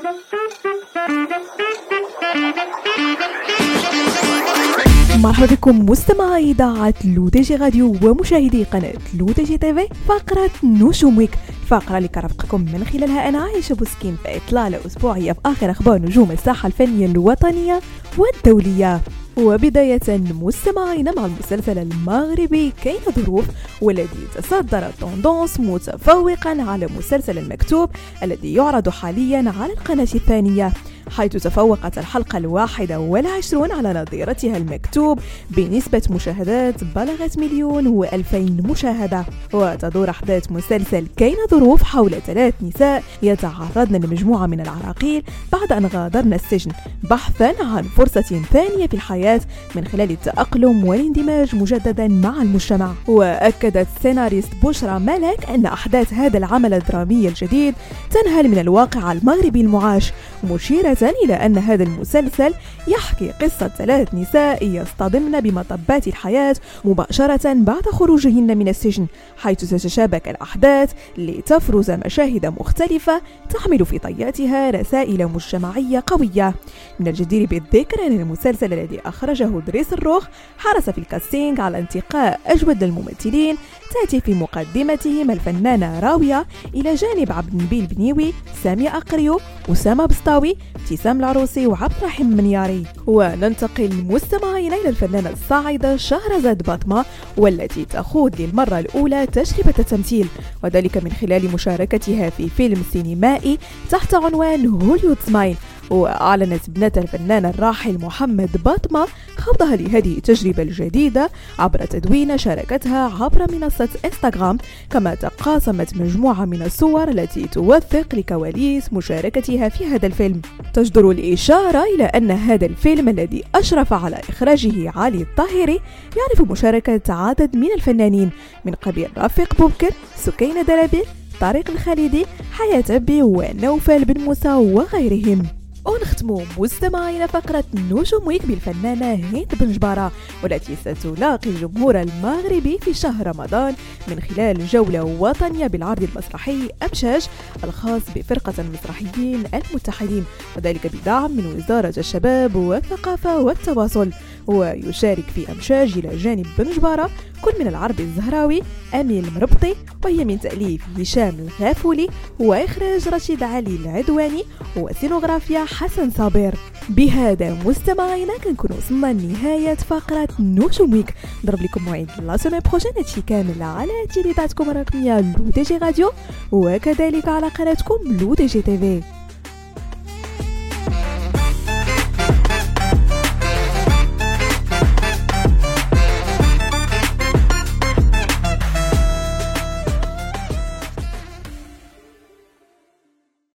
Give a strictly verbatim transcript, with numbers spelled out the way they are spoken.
مرحبا بكم مستمعي إذاعة لو دي جي راديو ومشاهدي قناة لو دي جي تي في. فقرة نجوم ويك، فقرة اللي كرفقكم من خلالها أنا عايشة بوسكين في إطلالة أسبوعية في آخر أخبار نجوم الساحة الفنية الوطنية والدولية. وبداية مستمعين مع المسلسل المغربي كاين ظروف، والذي تصدر توندونس متفوقا على مسلسل المكتوب الذي يعرض حاليا على القناة الثانية، حيث تفوقت الحلقة الواحدة والعشرون على نظيرتها المكتوب بنسبة مشاهدات بلغت مليون وألفين مشاهدة. وتدور أحداث مسلسل كاين ظروف حول ثلاث نساء يتعرضن لمجموعة من العراقيل بعد أن غادرن السجن بحثا عن فرصة ثانية في الحياة من خلال التأقلم والاندماج مجددا مع المجتمع. وأكدت سيناريست بشرى ملك أن أحداث هذا العمل الدرامي الجديد تنهل من الواقع المغربي المعاش، مشيرة إلى أن هذا المسلسل يحكي قصة ثلاث نساء يصطدمن بمطبات الحياة مباشرة بعد خروجهن من السجن، حيث تتشابك الأحداث لتفرز مشاهد مختلفة تحمل في طياتها رسائل مجتمعية قوية. من الجدير بالذكر أن المسلسل الذي أخرجه دريس الروخ حرص في الكاستينج على انتقاء أجود الممثلين، تأتي في مقدمتهم الفنانة راوية إلى جانب عبد النبيل بنيوي، سامي أقريو، أسامة بسطاوي، ابتسام العروسي وعبد الرحيم منياري. وننتقل مستمعين إلى الفنانة الصاعدة شهرزاد باطمة، والتي تخوض للمرة الأولى تجربة التمثيل، وذلك من خلال مشاركتها في فيلم سينمائي تحت عنوان هوليود سمايل. وأعلنت ابنة الفنان الراحل محمد باطمة خوضها لهذه التجربة الجديدة عبر تدوين شاركتها عبر منصة انستغرام، كما تقاسمت مجموعة من الصور التي توثق لكواليس مشاركتها في هذا الفيلم. تجدر الإشارة إلى أن هذا الفيلم الذي أشرف على إخراجه علي الطاهري يعرف مشاركة عدد من الفنانين من قبيل رفيق بوبكر، سكينة دلبي، طارق الخالدي، حياة أبي ونوفل بن موسى وغيرهم. ونختم مستمعين فقرة نجوم ويك بالفنانة هند بنجبارة، والتي ستلاقي الجمهور المغربي في شهر رمضان من خلال جولة وطنية بالعرض المسرحي أمشاج الخاص بفرقة المسرحيين المتحدين، وذلك بدعم من وزارة الشباب والثقافة والتواصل. ويشارك في أمشاج إلى جانب بنجبارة كل من العربي الزهراوي، أميل مربطي، وهي من تأليف هشام الغافولي وإخراج رشيد علي العدواني وسينوغرافيا حسن صابر. بهذا مستمعينا كنكون وصلنا لنهاية فقرة نجوم ويك. نضرب لكم موعد لا سيمين بروجين هادشي كامل على تيليداتكم الرقمية لو دي جي راديو، وكذلك على قناتكم لو دي جي تي في.